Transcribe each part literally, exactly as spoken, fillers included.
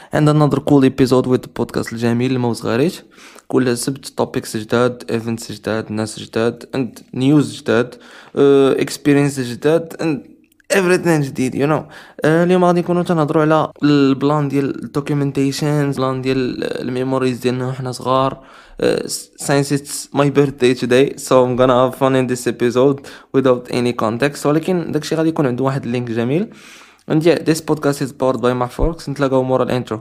عندنا another cool episode with the podcast الجميل الموز غاريت. كل سبت topics جداد, events جداد, ناس جداد and news جداد, uh, experience جداد and everything جديد you know. uh, اليوم غادي نكونوا تنهضروا على البلان ديال documentations, بلان ديال الميموريز ديالنا وحنا صغار. uh, since it's my birthday today so I'm gonna have fun in this episode without any context, ولكن داكشي غادي يكون عنده واحد اللينك جميل. And yeah, this podcast is powered by Mahfox. نتلاقاو مورا الانترو.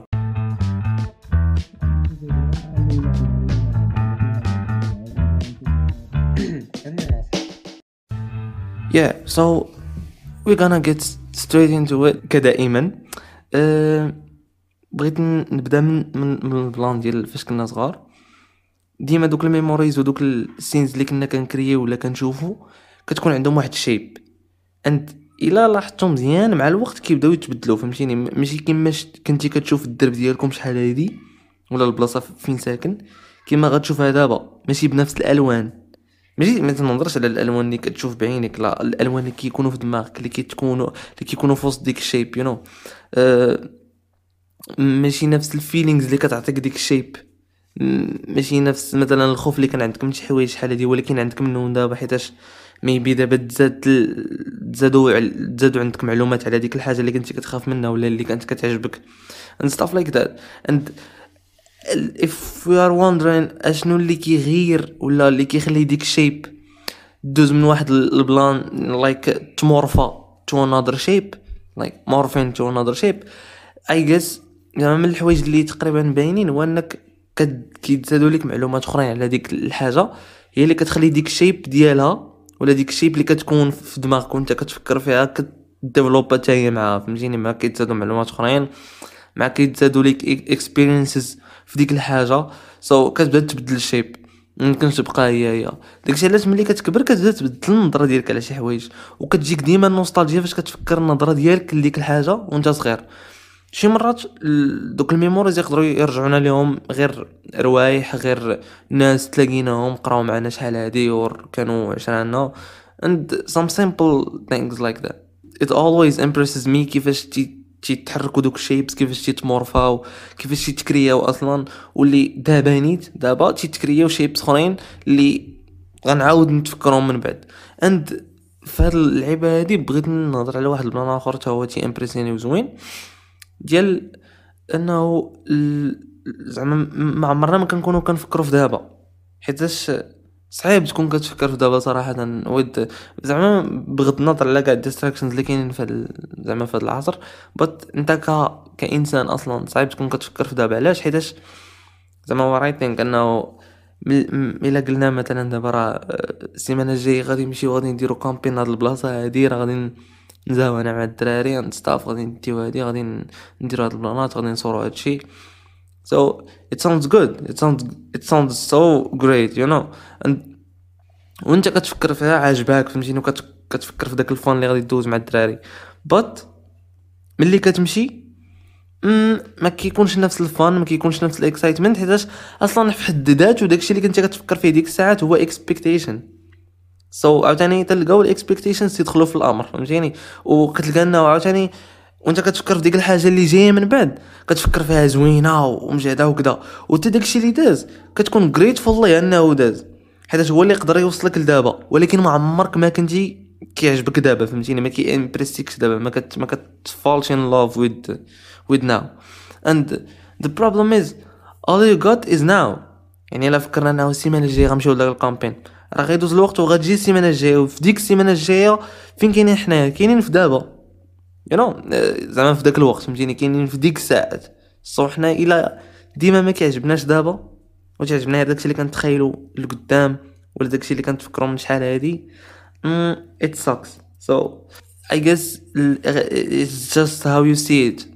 Yeah, so we're gonna get straight into it كدائما. أه بغيت نبدا من من, من البلان ديال فاش كنا صغار. ديما دوك الميموريز ودوك السينز اللي كنا كنكريو ولا كنشوفو كتكون عندهم واحد الشيب. and الا لاحظتوا مزيان مع الوقت كيبداو يتبدلوا, فهمتيني؟ ماشي كيما كنتي كتشوف الدرب ديالكم شحال هادي ولا البلاصه فين ساكن كيما غتشوفها دابا, ماشي بنفس الالوان. ماشي ما تنهضرش على الالوان اللي كتشوف بعينك, لا, الالوان اللي كيكونوا في دماغك, اللي كيتكونوا اللي كيكونوا في وسط ديك الشيب يو نو. أه ماشي نفس الفيلينغز اللي كتعطيك ديك الشيب, ماشي نفس مثلا الخوف اللي كان عندك من شي حوايج شحال هادي ولكن عندك منهم دابا, حيتاش ميبي دابا تزاد تزادوا تزادوا عندك معلومات على ديك الحاجه اللي كنتي كتخاف منها ولا اللي كانت كتعجبك and stuff like that. and if we are wondering اشنو اللي كيغير ولا اللي كيخلي ديك الشيب دوز من واحد البلان like تمورفا to another shape, like morphing to another shape, I guess يعني من الحوايج اللي تقريبا باينين هو انك كيتزادوا لك معلومات اخرين على ديك الحاجه هي اللي كتخلي ديك الشيب ديالها ولا ديك الشيب اللي كتكون في دماغك وانت كتفكر فيها كديفلوبا حتى هي معاها, فهمتيني؟ ما كيتزادوا معلومات اخرين, ما كيتزادوا لك اكسبيرينسز في ديك الحاجه, سو so, كتبدا تبدل الشيب, ممكن تبقى هي هي داكشي. علاش ملي كتكبر كتبدا تبدل النظره ديالك على شي حوايج وكتجيك ديما النوستالجيا فاش كتفكر النظره ديالك لديك الحاجه وانت صغير. شي مرات دوك الميموريز يقدروا يرجعونا لهم غير روايح, غير ناس تلاقيناهم قراو معنا شحال هادي اور كانوا عشرانا and some simple things like that. It always impresses me كيفاش تي تيتحركوا دوك الشيبس, كيفاش تيتمورفاو, كيفاش تيتكرياو اصلا, واللي دابا نيت دابا تيتكرياو شيبس اخرين اللي غنعاود نتفكرهم من بعد. and في هاد اللعبه هادي بغيت نهضر على واحد البلان اخر تا هو تي امبريسيوني وزوين, ديال انه زعما ما عمرنا ما كنكونوا كنفكروا في دابا, حيتاش صعيب تكون كتفكر في دابا صراحه ود زعما بغض النظر على كاع الديستراكشنز اللي كاينين في زعما في هذا العصر, بط انت ك كانسان اصلا صعيب تكون كتفكر في دابا. علاش؟ حيتاش زعما ورايتينك انه الا قلنا مثلا دابا راه السيمانه الجايه غادي نمشيو غادي نديرو كامبين هاد البلاصه هادي, راه غادي نزاو انا مع الدراري نستاف غادي نديو هادي, غادي نديرو هاد البلانات, غادي نصورو هادشي. so it sounds good, it sounds it sounds so great you know. and وانت كتفكر فيها عاجباك, فهمتيني؟ كتفكر في داك الفون اللي غادي تدوز مع الدراري, but ملي كتمشي ما كيكونش نفس الفان, ما كيكونش نفس الاكسايتمنت, حيتاش اصلا في حد ذاته داكشي اللي كنتي كتفكر فيه ديك الساعات هو اكسبكتيشن. سو so, عاوتاني تلقاو الاكسبكتيشنز يدخلوا في الامر, فهمتيني؟ وكتلقى انه عاوتاني وانت كتفكر في ديك الحاجه اللي جايه من بعد كتفكر فيها زوينه ومجهده وكذا, وحتى داكشي اللي داز كتكون غريتفول ليه انه داز, حيت هو اللي يقدر يوصلك لدابا, ولكن ما عمرك ما كنتي كيعجبك دابا, فهمتيني؟ ما كي امبريسيكش دابا, ما كت ما كتفالش ان لاف ويد with now. and the problem is all you got is now. يعني الا فكرنا انه السيمانه الجايه غنمشيو لهاد الكامبين, راه غيدوز الوقت وغتجي السيمانه الجايه, وفي ديك السيمانه الجايه فين كاينين حنايا؟ كاينين في دابا you know, زعما في داك الوقت, فهمتيني؟ كاينين في ديك الساعات. صو حنا الا ديما ما كيعجبناش دابا وتعجبنا داكشي اللي كنتخيلوا لقدام ولا داكشي اللي كنتفكروا من شحال هادي, mm, it sucks. so I guess it's just how you see it.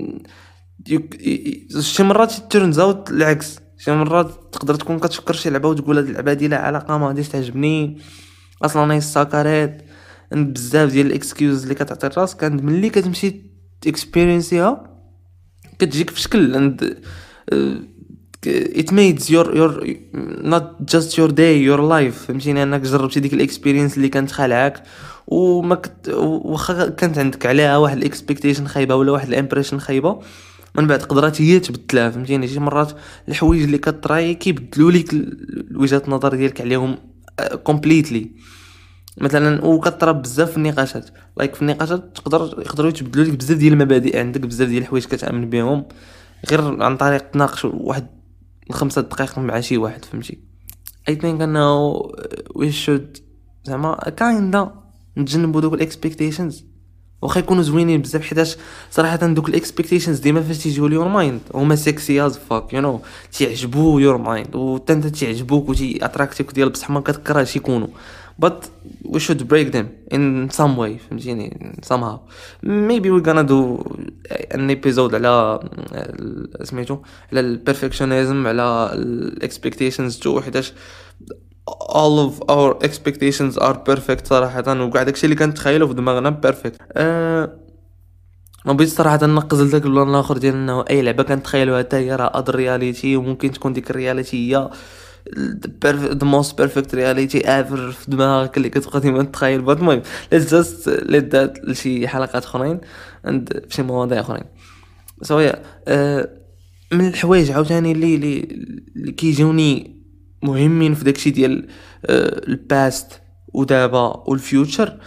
شي مرات turns out العكس, شي مرات تقدر تكون كتفكر شي لعبه وتقول هاد اللعبه دي لا علاقه ما غاديش تعجبني اصلا, هي ساكارات بزاف ديال الاكسكيوز اللي كتعطي راسك, كان ملي كتمشي اكسبيرينسيها كتجيك في شكل and uh, it makes your your not just your day your life, فهمتيني؟ انك جربتي ديك الاكسبيرينس اللي كانت خالعاك وما كت... واخا كانت عندك عليها واحد الاكسبكتيشن خايبه ولا واحد الامبريشن خايبه, من بعد قدرات هي تبدلها فهمتيني. شي مرات الحوايج اللي كطراي كيبدلوا لك وجهه النظر ديالك عليهم كومبليتلي. مثلا وكطرا بزاف في النقاشات لايك في النقاشات تقدر يقدروا يتبدلوا لك بزاف ديال المبادئ عندك، بزاف ديال الحوايج كتامن بهم غير عن طريق تناقش واحد خمسة دقائق مع شي واحد فهمتي. I think انه we should زعما كايندا نتجنبوا دوك الاكسبكتيشنز واخا يكونوا زوينين بزاف، حيتاش صراحه دوك الاكسبكتيشنز ديما فاش تيجيو ليور مايند هما سيكسي از فاك يو نو، تيعجبوا يور مايند وحتى انت تعجبوك وتي اتراكتيك ديال بصح ما كتكرهش يكونوا. but we should break them in some way فهمتيني somehow. maybe we're gonna do an episode على سميتو على البرفكشنزم على الاكسبكتيشنز تو، حيتاش all of our expectations are perfect صراحة، وكاع داكشي اللي كنتخيلو في دماغنا perfect. أه ما بغيتش صراحة ننقز لذاك البلان الاخر ديال انه اي لعبة كنتخيلوها حتى هي راه اد رياليتي، وممكن تكون ديك الرياليتي هي the most perfect reality ever في دماغك اللي كتبقى ديما تتخيل. بات المهم let's just let that لشي حلقات اخرين عند فشي مواضيع اخرين. سو so yeah. أه من الحوايج عاوتاني اللي اللي كيجوني مهمين في داكشي ديال الباست ودابا والفيوتشر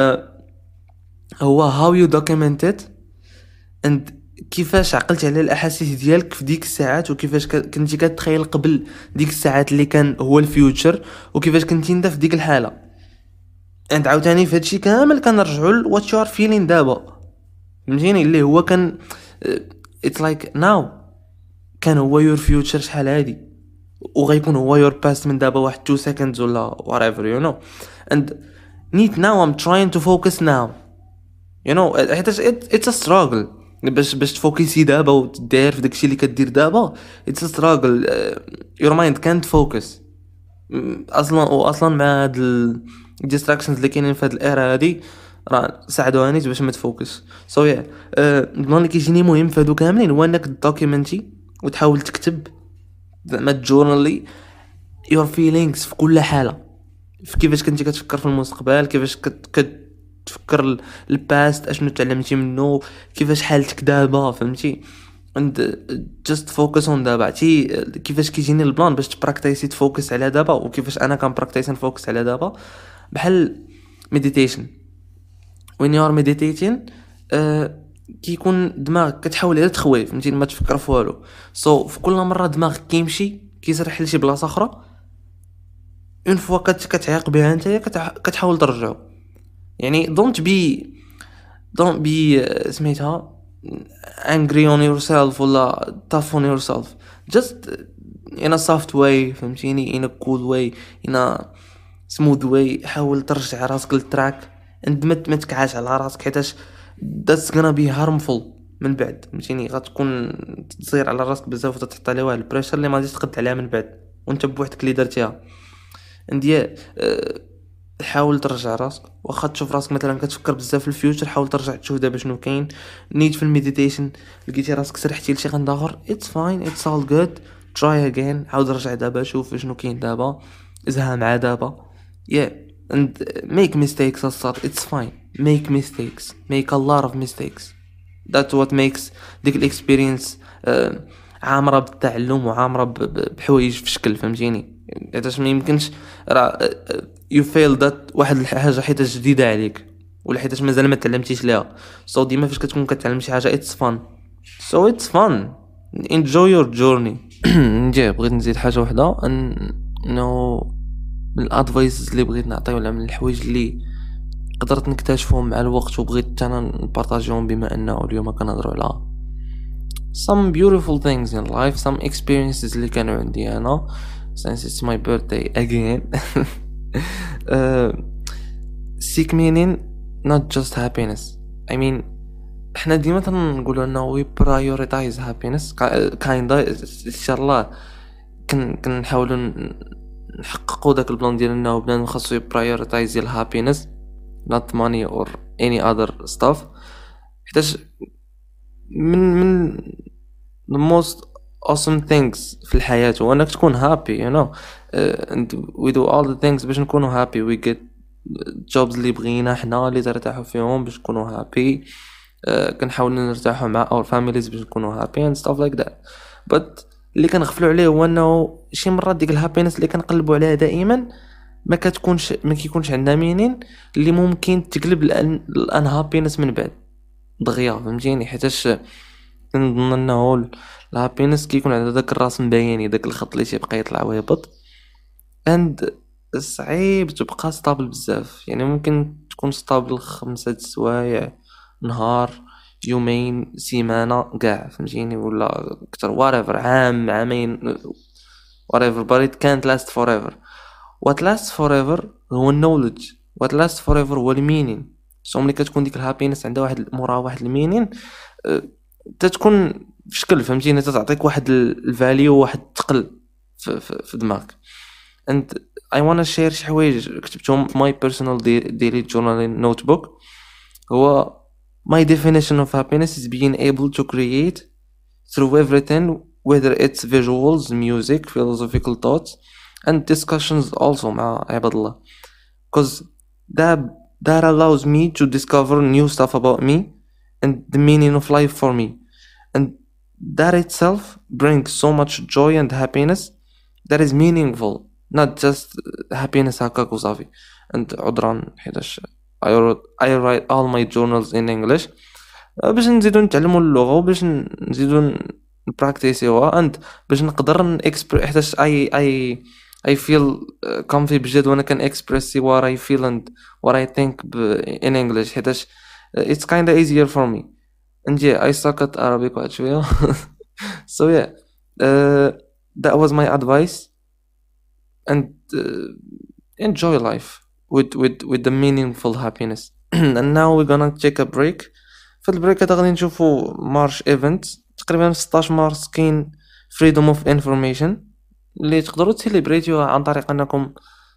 هو how you document it and كيفاش عقلت على الاحاسيس ديالك في ديك الساعات، وكيفاش كنتي كتخيل قبل ديك الساعات اللي كان هو الفيوتشر، وكيفاش كنتي انت في ديك الحاله. انت عاوتاني في هادشي كامل كنرجعوا ل what you are feeling دابا فهمتيني، اللي هو كان it's like now كان هو your future شحال هادي، وغيكون هو your past من دابا واحد two seconds ولا whatever you know. and need now I'm trying to focus now you know حيت it, it's a struggle باش باش تفوكسي دابا وتدير في داكشي اللي كدير دابا. it's a struggle uh, your mind can't focus اصلا، واصلا مع هاد ال distractions اللي كاينين في هاد الايرا هادي راه ساعدوها باش ما تفوكس. سو يا البلان اللي كيجيني مهم في هادو كاملين هو انك دوكيومنتي وتحاول تكتب زعما جورنالي your feelings في كل حاله، في كيفاش كنتي كتفكر في المستقبل، كيفاش كتفكر الباست اشنو تعلمتي منه، كيفاش حالتك دابا فهمتي. and just focus on دابا. عرفتي كيفاش كيجيني البلان باش تبراكتيسي تفوكس على دابا، وكيفاش انا كنبراكتيسي نفوكس على دابا بحال meditation. when you are meditating أه كيكون دماغك كتحاول غير تخوي فهمتي ما تفكر في والو. سو so, في كل مره دماغك كيمشي كيسرح لشي بلاصه اخرى، اون فوا كتعيق بها انت كتحاول ترجعو. يعني don't be don't be سميتها angry on yourself ولا tough on yourself, just in a soft way فهمتيني, in a cool way, in a smooth way. حاول ترجع راسك للتراك and ما تكعاش على راسك حيتاش that's gonna be harmful من بعد فهمتيني. غتكون تصير على راسك بزاف وتحط عليه واحد البريشر اللي ما غاديش تقد عليها من بعد وانت بوحدك اللي درتيها. انديه أه حاول ترجع راسك، واخا تشوف راسك مثلا كتفكر بزاف في الفيوتشر حاول ترجع تشوف دابا شنو كاين. نيت في المديتيشن لقيتي راسك سرحتي لشي غند اخر it's fine it's all good try again. عاود رجع دابا شوف شنو كاين دابا، ازها مع دابا yeah and make mistakes اصلا it's fine. make mistakes make a lot of mistakes that's what makes ديك الاكسبيرينس uh, عامره بالتعلم وعامره بحوايج في شكل فهمتيني. حيتاش ما يمكنش راه you fail that واحد الحاجه حيت جديده عليك ولا حيتاش مازال ما تعلمتيش ليها. سو so ديما فاش كتكون كتعلم شي حاجه it's fun so it's fun enjoy your journey. نجي بغيت نزيد حاجه وحده انه من الادفايس اللي بغيت نعطيه ولا من الحوايج اللي قدرت نكتشفهم مع الوقت وبغيت انا نبارطاجيهم بما انه اليوم كنهضروا على some beautiful things in life, some experiences اللي كانوا عندي انا since it's my birthday again. uh, seek meaning not just happiness. I mean احنا ديما تنقولوا انه we prioritize happiness kinda ان شاء الله كن كنحاولوا نحققوا داك البلان ديال انه بنادم خاصو prioritize ال happiness not money or any other stuff. حيتاش من من the most awesome things في الحياة هو انك تكون happy you know uh, and we do all the things باش نكونوا happy. we get jobs اللي بغينا حنا اللي ترتاحوا فيهم باش نكونوا happy. آه، كنحاولوا نرتاحوا مع اور فاميليز باش نكونوا هابي اند ستاف لايك ذات. بس اللي كنغفلوا عليه هو انه شي مرات ديك الهابينس اللي كنقلبوا عليها دائما ما كتكونش ما كيكونش عندها مينين اللي ممكن تقلب الان هابينس من بعد دغيا، فهمتيني؟ حيتاش كنظن انه الهابينس كيكون عندها داك الراس مبيني، داك الخط اللي تيبقى يطلع ويهبط، اند صعيب تبقى ستابل بزاف. يعني ممكن تكون ستابل خمسة سوايع، نهار، يومين، سيمانة، كاع فهمتيني، ولا اكثر whatever، عام، عامين، whatever but it can't last forever. what lasts forever هو النولج، what lasts forever هو المينين. سو ملي كتكون ديك الهابينس عندها واحد مورا واحد المينين، أه تتكون في شكل فهمتيني، تتعطيك واحد الفاليو، واحد الثقل في, في, في دماغك. and I wanna share شي حوايج كتبتهم في my personal daily journaling notebook. هو my definition of happiness is being able to create through everything, whether it's visuals, music, philosophical thoughts and discussions also مع عباد الله, because that that allows me to discover new stuff about me and the meaning of life for me, and that itself brings so much joy and happiness that is meaningful, not just happiness هكاك وصافي. and عذرا حيتاش I wrote I write all my journals in English باش نزيدو نتعلموا اللغة وباش نزيدو نبراكتيسيوها and باش نقدر نكسبر، حيتاش I I I feel comfy بجد وانا كان express what I feel and what I think in English، حيتاش it's kinda easier for me. and yeah I suck at Arabic واحد شوية so yeah uh, that was my advice, and uh, enjoy life with with with the meaningful happiness. and now we're gonna take a break. في البريك هذا غادي نشوفوا مارش ايفنت تقريبا في ستة عشر مارس. كاين فريدوم اوف انفورميشن اللي تقدروا تسيليبريتيوها عن طريق انكم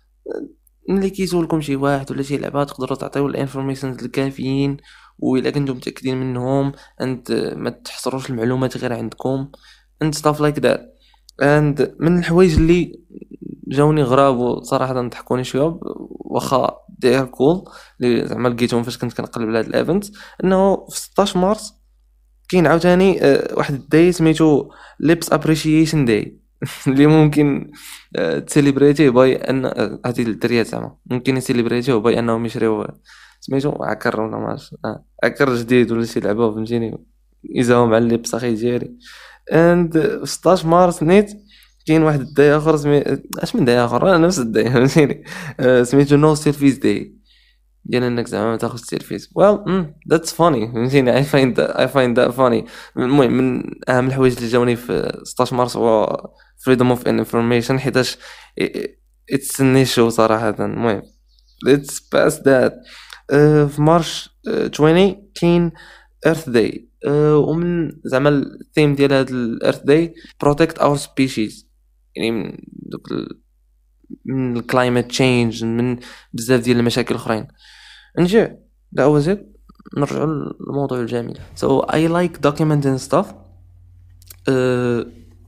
ملي كيسولكم شي واحد ولا شي لعبه تقدروا تعطيو الانفورميشنز الكافيين وإلا كنتم متاكدين منهم، انت ما تحصروش المعلومات غير عندكم and stuff like that. and من الحوايج اللي جاوني غراب وصراحه ضحكوني شويه واخا دير كول اللي زعما لقيتهم فاش كنت كنقلب على هاد الايفنت، انه في ستة عشر مارس كاين عاوتاني واحد الداي سميتو ليبس ابريشيشن داي اللي ممكن تسيليبريتيه باي ان هذه الدريات زعما ممكن يسيليبريتيه باي انهم يشريو سميتو عكر ولا ماش عكر جديد ولا شي لعبه فهمتيني يزاو مع اللبس اخي ديالي. اند ستة عشر مارس نيت كاين واحد الداي اخر سمي اش من داي اخر انا نفس الداي فهمتيني سميتو نو سيلفيز داي، ديال انك زعما ما تاخذ سيلفيز. well ذاتس فاني فهمتيني I find that I find that funny. المهم من اهم الحوايج اللي جاوني في ستة عشر مارس هو freedom of information، حيتاش it's an issue صراحه. المهم let's pass that. uh, في مارش عشرين كاين earth day، uh, ومن زعما الثيم ديال هذا الارث داي protect our species، يعني من دوك ال... من الكلايمت تشينج، من بزاف ديال المشاكل الاخرين. نجي that was it. نرجع للموضوع الجميل. so I like documenting stuff. uh,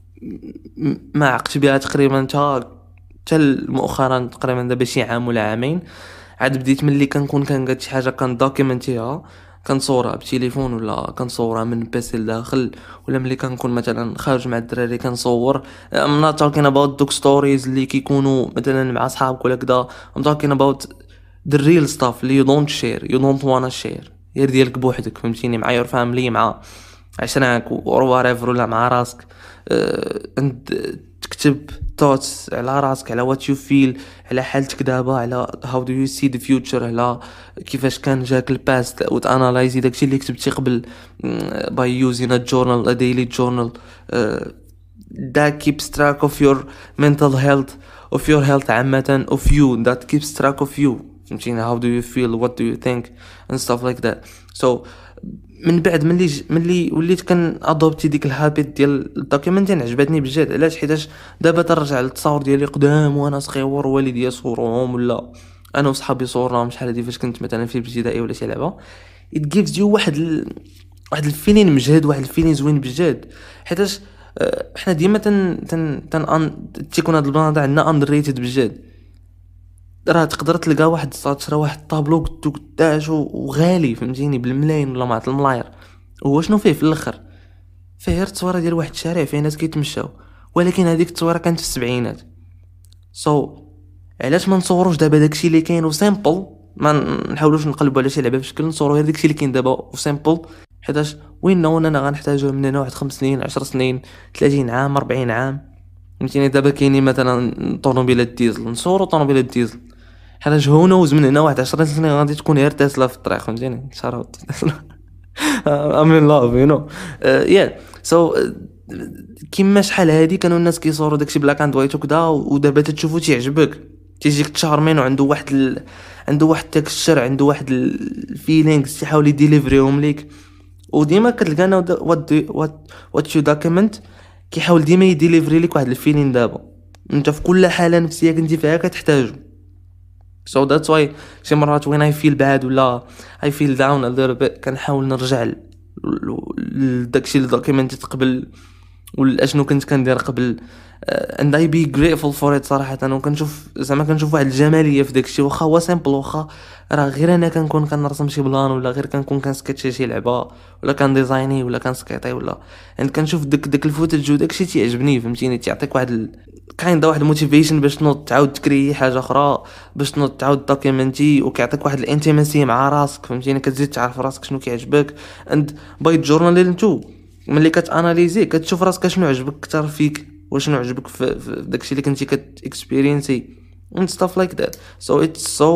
ما عقت بها تقريبا تا حتى مؤخرا تقريبا دابا شي عام ولا عامين عاد بديت ملي كنكون كنقاد شي حاجه كندوكيمنتيها كنصورها بتليفون ولا كنصورها من بيسي لداخل، ولا ملي كنكون مثلا خارج مع الدراري كنصور. I'm not talking about دوك ستوريز اللي كيكونوا مثلا مع صحابك ولا كذا. I'm talking about the real stuff اللي you don't share you don't wanna share، غير ديالك بوحدك فهمتيني، مع your family، مع عشرانك or whatever، ولا مع راسك. uh, انت تكتب thoughts على راسك، على what you feel، على حالتك دابا، على how do you see the future، على كيفاش كان جاك الباست، وتانالايزي داكشي اللي كتبتي قبل by using a journal a daily journal. uh, that keeps track of your mental health of your health عامة of you، that keeps track of you فهمتيني، how do you feel what do you think and stuff like that. so من بعد ملي ملي وليت كان ادوبتي ديك الهابيت ديال الدوكيومنتين عجبتني بجد. علاش؟ حيتاش دابا ترجع للتصاور ديالي قدام وانا صغير والدي يصورهم ولا انا وصحابي صورناهم شحال هادي فاش كنت مثلا في الابتدائي ولا شي لعبه. it gives you واحد ال... واحد الفيلين مجهد، واحد الفيلين زوين بجد، حيتاش احنا ديما تن تن تن تيكون هاد البلان عندنا اندريتد بجد. راه تقدر تلقى واحد تشرى واحد الطابلو قدو قداش وغالي فهمتيني بالملايين ولا مع الملاير، هو شنو فيه في الاخر؟ فيه غير التصويره ديال واحد الشارع فيه ناس كيتمشاو، ولكن هذيك التصويره كانت في السبعينات. سو so, علاش ما نصوروش دابا داكشي اللي كاين وسيمبل، ما نحاولوش نقلبوا على شي لعبه بشكل، نصوروا غير داكشي اللي كاين دابا وسيمبل، حيتاش وين نو انا غنحتاجوه من هنا واحد خمس سنين عشر سنين ثلاثين عام أربعين عام فهمتيني. دابا كاينين مثلا طوموبيلات ديزل، نصوروا طوموبيلات ديزل، حيتاش هو نوز من هنا واحد عشر سنين غادي تكون غير تسلا في الطريق فهمتيني. شاروت I'm in love you know uh, yeah so uh, كيما شحال هادي كانوا الناس كيصوروا داكشي بلاك اند وايت وكذا، ودابا تتشوفو تيعجبك، تيجيك تشارمين وعنده واحد ال... عنده واحد تكستشر، عنده واحد الفيلينغز تيحاول يديليفريهم ليك. وديما كتلقانا وات وات وات يو دوكيمنت كيحاول ديما يديليفري لك واحد الفيلين دابا انت في كل حاله نفسيه كنتي فيها كتحتاجو. so that's why شي مرات وين I feel bad ولا I feel down a little bit كنحاول نرجع لداكشي اللي دوكيمنتيت قبل ولا شنو كنت كندير قبل uh, and I be grateful for it صراحه. انا كنشوف زعما كنشوف واحد الجماليه في داكشي، واخا هو سامبل، واخا راه غير انا كنكون كنرسم شي بلان ولا غير كنكون كنسكتشي شي لعبه ولا كان ديزايني ولا كنسكيطي ولا يعني كنشوف داك داك الفوتج وداكشي تيعجبني فهمتيني، تيعطيك واحد ال... كاين دا واحد الموتيفيشن باش تنوض تعاود تكري حاجه اخرى، باش تنوض تعاود دوكيمنتي، وكيعطيك واحد الانتيماسي مع راسك فهمتيني، كتزيد تعرف راسك شنو كيعجبك. اند باي جورنال انتو ملي كتاناليزي كتشوف راسك شنو عجبك اكثر فيك وشنو عجبك في, في داكشي اللي كنتي كتاكسبيرينسي and stuff like that. So it's so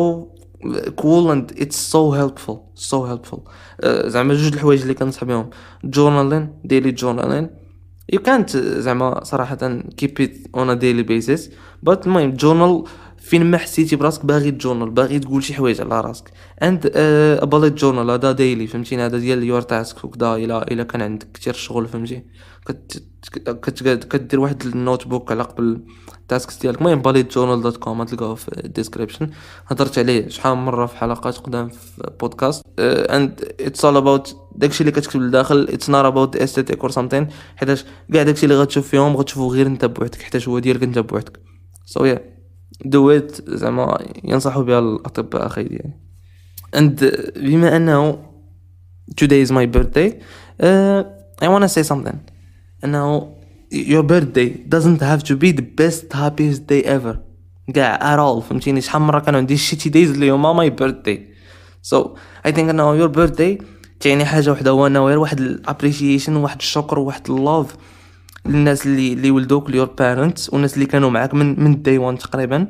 cool and it's so helpful so helpful uh, زعما جوج الحوايج اللي كنصح بهم journaling daily journaling. you can't زعما صراحة keep it on a daily basis but المهم journal فين ما حسيتي براسك باغي تجورنال، باغي تقول شي حوايج على راسك and uh, a bullet journal هذا daily فهمتيني، هذا ديال your task وكذا. الا الا كان عندك كثير شغل فهمتي كت كدير واحد النوت بوك على قبل التاسكس ديالك. المهم bullet journal دوت كوم تلقاوه في الديسكريبشن، هضرت عليه شحال من مره في حلقات قدام في بودكاست uh, and it's all about داكشي اللي كتكتب لداخل. it's not about the aesthetic or something، حيتاش كاع داكشي اللي غتشوف فيهم غتشوفو غير انت بوحدك حيتاش هو ديالك انت بوحدك. so yeah do it زعما ينصحوا بها الاطباء اخي ديالي. and بما انه today is my birthday uh, I want to say something انه your birthday doesn't have to be the best happiest day ever كاع at all فهمتيني. شحال مره كانوا عندي shitty days اللي هما my birthday. so I think انه your birthday تعني حاجه وحده، هو انه غير واحد الابريشيشن وواحد الشكر وواحد اللوف للناس اللي اللي ولدوك ليور بارنتس والناس اللي كانوا معاك من من داي وان تقريبا،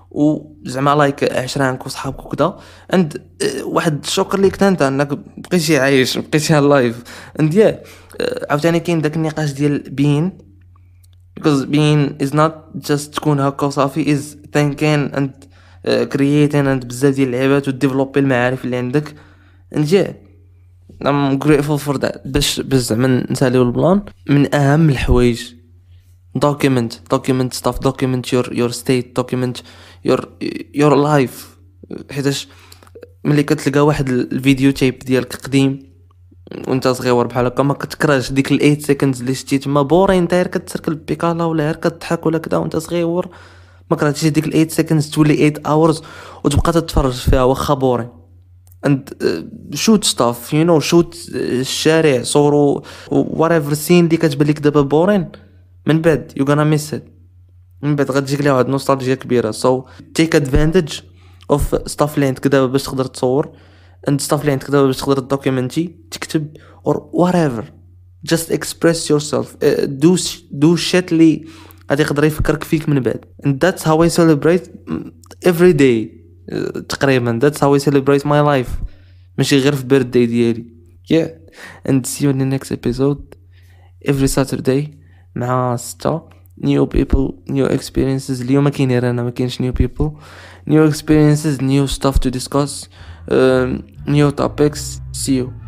وزعما لايك عشرانك وصحابك وكذا. اند واحد الشكر ليك انت انك بقيتي عايش بقيتي لايف. اند يا عاوتاني كاين داك النقاش ديال being because being is not just تكون هكا وصافي is thinking and uh, creating and بزاف ديال اللعبات وديفلوبي المعارف اللي عندك. اند يا I'm grateful for that. باش باش زعما نساليو البلان من اهم الحوايج document document stuff document your your state document your your life، حيتاش ملي كتلقى واحد الفيديو تايب ديالك قديم وانت صغير بحال هكا ما كتكرهش ديك ال eight seconds اللي شتي تما بورين انت غير كتسركل البيكالا ولا غير كتضحك ولا كذا وانت صغير، ما كرهتيش ديك ال eight seconds تولي eight hours وتبقى تتفرج فيها واخا بورين. and uh, shoot stuff you know shoot uh, الشارع صورو whatever scene اللي كتبان لك دابا بورين من بعد you gonna miss it، من بعد غتجيك ليه واحد نوستالجيا كبيره. so take advantage of stuff اللي عندك دابا باش تقدر تصور and stuff اللي عندك دابا باش تقدر دوكيومنتي تكتب or whatever just express yourself uh, do do shit اللي غادي يقدر يفكرك فيك من بعد. and that's how I celebrate every day تقريبا that's how I celebrate my life ماشي غير في birthday ديالي. yeah and see you in the next episode every Saturday مع ستة new people new experiences. اليوم ما كاين غير انا ما كاينش new people new experiences new stuff to discuss um, new topics. see you.